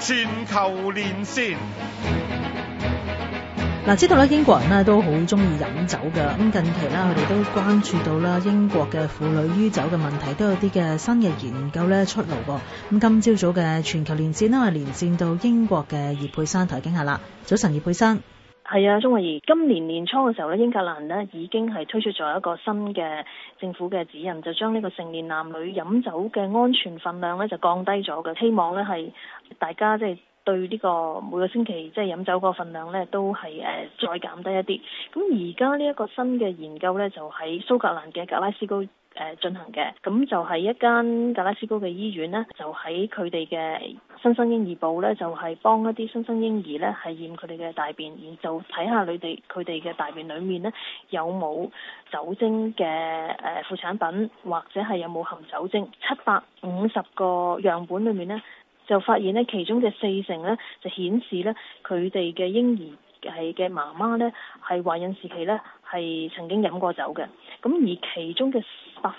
全球連線。 嗱，知道咧英國人咧都好中意飲酒㗎，咁近期啦，佢哋都關注到啦英國嘅婦女酗酒嘅問題，都有啲嘅新嘅研究咧出爐喎。咁今朝早嘅全球連線啦，連線到英國嘅葉珮珊同佢傾下啦。早晨，葉珮珊。 係啊，鍾慧儀，今年年初嘅時候咧，英格蘭呢已經係推出咗一個新嘅政府嘅指引，就將呢個成年男女飲酒嘅安全分量咧就降低咗嘅，希望咧係大家即係對呢個每個星期即係飲酒個分量咧都係再減低一啲。咁而家呢一個新嘅研究咧就喺蘇格蘭嘅格拉斯高進行嘅，咁就係一間格拉斯高嘅醫院呢，就喺佢哋嘅新生嬰兒部呢，就係幫一啲新生嬰兒呢係驗佢哋嘅大便，然後就睇下佢哋嘅大便裡面呢有冇酒精嘅副產品，或者係有冇含酒精。750個樣本裡面呢，就發現呢其中嘅40%呢就顯示呢佢哋嘅嬰兒係嘅媽媽呢係懷孕時期呢係曾經飲過酒嘅，咁而其中嘅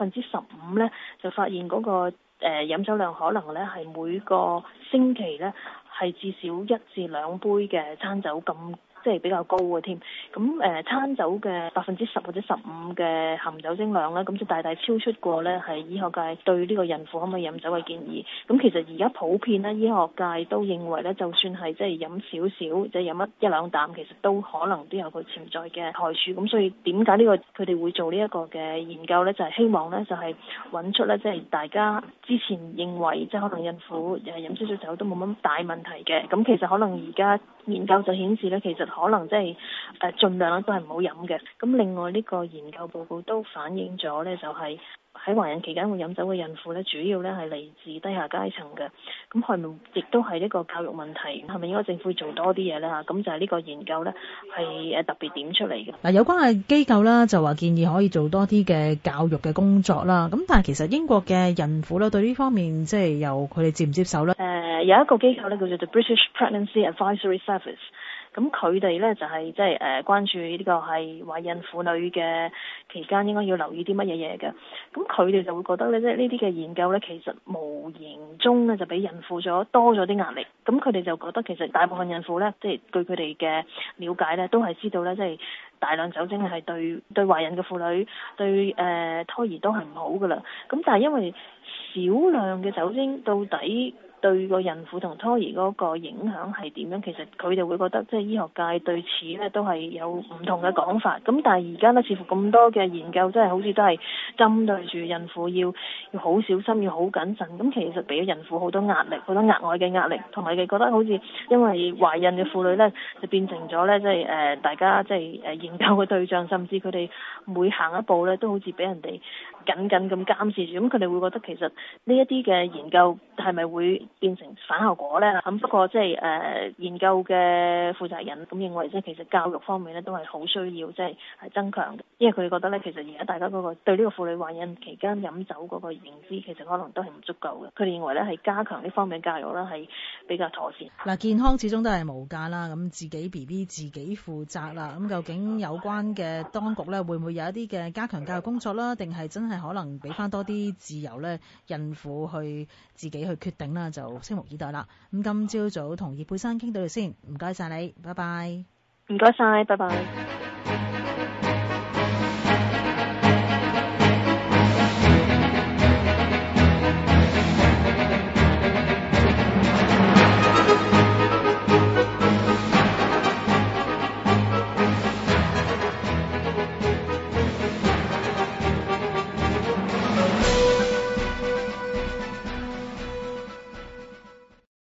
15%呢就發現嗰個飲酒量可能呢係每個星期呢係至少1至2杯嘅餐酒咁。即係比較高嘅添，咁餐酒嘅10%或者15%嘅含酒精量咧，咁就大大超出過咧係醫學界對呢個孕婦可唔可以飲酒嘅建議。咁其實而家普遍咧，醫學界都認為咧，就算係即係飲少少，即係飲一兩啖，其實都可能都有個潛在嘅害處。咁所以點解呢個佢哋會做呢一個嘅研究咧？就係希望咧，就係揾出咧，即係大家之前認為即係可能孕婦飲少少酒都冇乜大問題嘅，咁其實可能而家研究就顯示咧，其實可能即係盡量都係唔好飲嘅。咁另外呢個研究報告都反映咗咧，就係喺懷孕期間會飲酒嘅孕婦咧，主要咧係嚟自低下階層嘅。咁係咪亦都係呢個教育問題？係咪應該政府做多啲嘢咧？咁就係呢個研究咧係特別點出嚟嘅。 嗱，有關嘅機構啦就話建議可以做多啲嘅教育嘅工作啦。咁但係其實英國嘅孕婦咧對呢方面即係由佢哋接唔接受咧？ 有一個機構咧叫做 The British Pregnancy Advisory Service。咁佢哋咧就係即係關注呢個係懷孕婦女嘅期間應該要留意啲乜嘢嘢嘅。咁佢哋就會覺得咧，即係呢啲嘅研究咧，其實無形中咧就俾孕婦多咗啲壓力。咁佢哋就覺得其實大部分孕婦咧，即係據佢哋嘅了解咧，都係知道咧，即係大量酒精係對懷孕嘅婦女對胎兒都係唔好噶啦。咁但係因為少量嘅酒精到底對個孕婦同胎兒嗰個影響係點樣？其實佢哋會覺得即係醫學界對此咧都係有唔同嘅講法。咁但係而家咧似乎咁多嘅研究真係好似都係針對住孕婦要好小心，要好謹慎。咁其實俾咗孕婦好多壓力，好多額外嘅壓力，同埋佢覺得好似因為懷孕嘅婦女咧就變成咗咧即係大家即係研究嘅對象，甚至佢哋每行一步咧都好似俾人哋緊緊咁監視住。咁佢哋會覺得其實呢一啲嘅研究係咪會變成反效果呢？咁不過即係研究嘅負責人咁認為，即係其實教育方面咧都係好需要即係增強嘅，因為佢哋覺得咧其實而家大家嗰個對呢個婦女懷孕期間飲酒嗰個認知其實可能都係唔足夠嘅。佢哋認為咧係加強呢方面嘅教育咧係比較妥善。 嗱，健康始終都係無價啦，咁自己 BB 自己負責啦。咁究竟有關嘅當局咧會唔會有一啲嘅加強教育工作啦？定係真係可能俾翻多啲自由咧孕婦去自己去決定啦？就拭目以待啦。咁今朝早同葉珮珊傾到先，唔該晒你，拜拜。 唔該晒，拜拜。